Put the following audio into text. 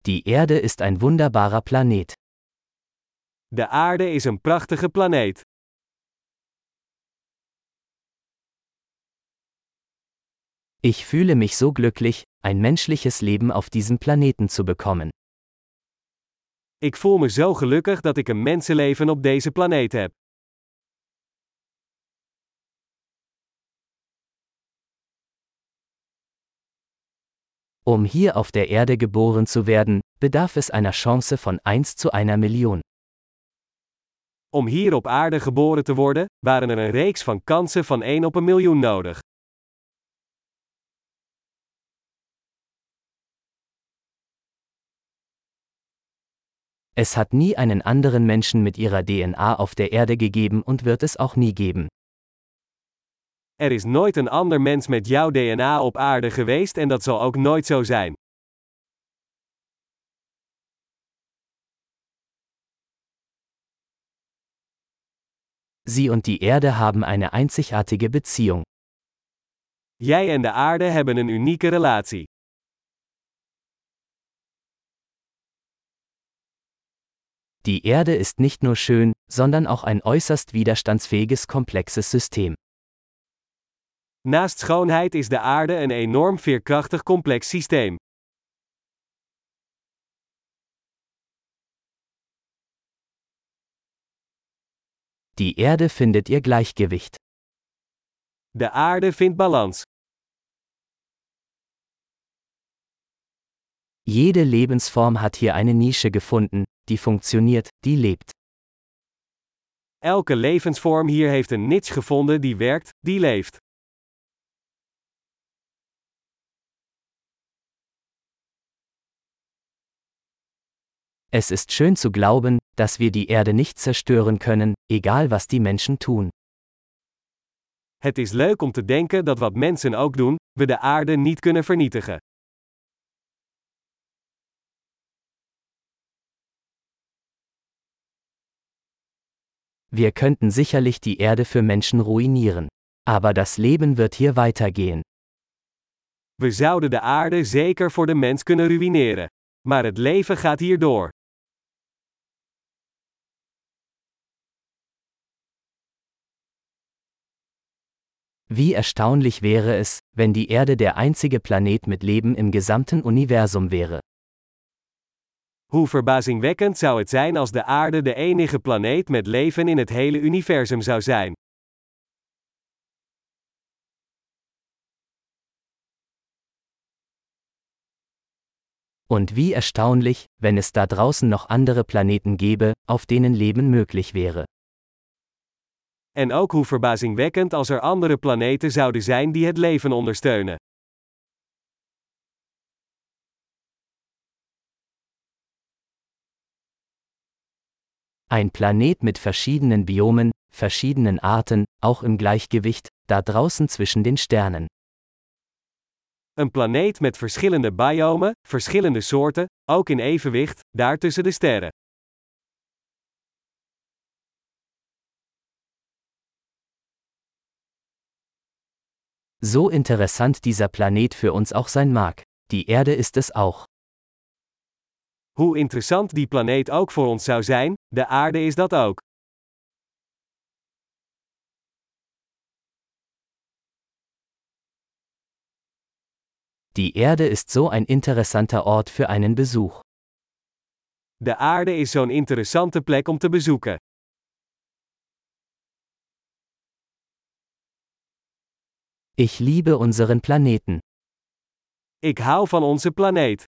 Die Erde ist ein wunderbarer Planet. De aarde is een prachtige planeet. Ich fühle mich so glücklich, ein menschliches Leben auf diesem Planeten zu bekommen. Ik voel me zo gelukkig dat ik een mensenleven op deze planeet heb. Um hier auf der Erde geboren zu werden, bedarf es einer Chance von 1 zu einer Million. Om hier op aarde geboren te worden, waren er een reeks van kansen van 1 op een miljoen nodig. Es hat nie einen anderen Menschen mit ihrer DNA auf der Erde gegeben und wird es auch nie geben. Er is nooit een ander mens met jouw DNA op aarde geweest en dat zal ook nooit zo zijn. Sie und die Erde haben eine einzigartige Beziehung. Jij en de aarde hebben een unieke relatie. Die Erde ist nicht nur schön, sondern auch ein äußerst widerstandsfähiges komplexes System. Naast schoonheid is de aarde een enorm veerkrachtig complex systeem. Die Erde findet ihr Gleichgewicht. De aarde vindt balans. Jede Lebensform hat hier eine Nische gefunden, die funktioniert, die lebt. Elke levensvorm hier heeft een niche gevonden die werkt, die leeft. Es ist schön zu glauben, dass wir die Erde nicht zerstören können, egal was die Menschen tun. Het is leuk om te denken dat wat mensen ook doen, we de aarde niet kunnen vernietigen. Wir könnten sicherlich die Erde für Menschen ruinieren. Aber das Leben wird hier weitergehen. We zouden de aarde zeker voor de mens kunnen ruïneren. Maar het leven gaat hier door. Wie erstaunlich wäre es, wenn die Erde der einzige Planet mit Leben im gesamten Universum wäre. Hoe verbazingwekkend zou het zijn als de aarde de enige planeet met leven in het hele universum zou zijn. Und wie erstaunlich, wenn es da draußen noch andere Planeten gäbe, auf denen Leben möglich wäre. En ook hoe verbazingwekkend als er andere planeten zouden zijn die het leven ondersteunen. Ein Planet mit verschiedenen Biomen, verschiedenen Arten, auch im Gleichgewicht, da draußen zwischen den Sternen. Een planeet met verschillende biomen, verschillende soorten, ook in evenwicht, daar tussen de sterren. So interessant dieser Planet für uns auch sein mag, die Erde ist es auch. Hoe interessant die planeet ook voor ons zou zijn, de aarde is dat ook. Die Erde ist so ein interessanter Ort für einen Besuch. De aarde is zo'n interessante plek om te bezoeken. Ich liebe unseren Planeten. Ik hou van onze planeet.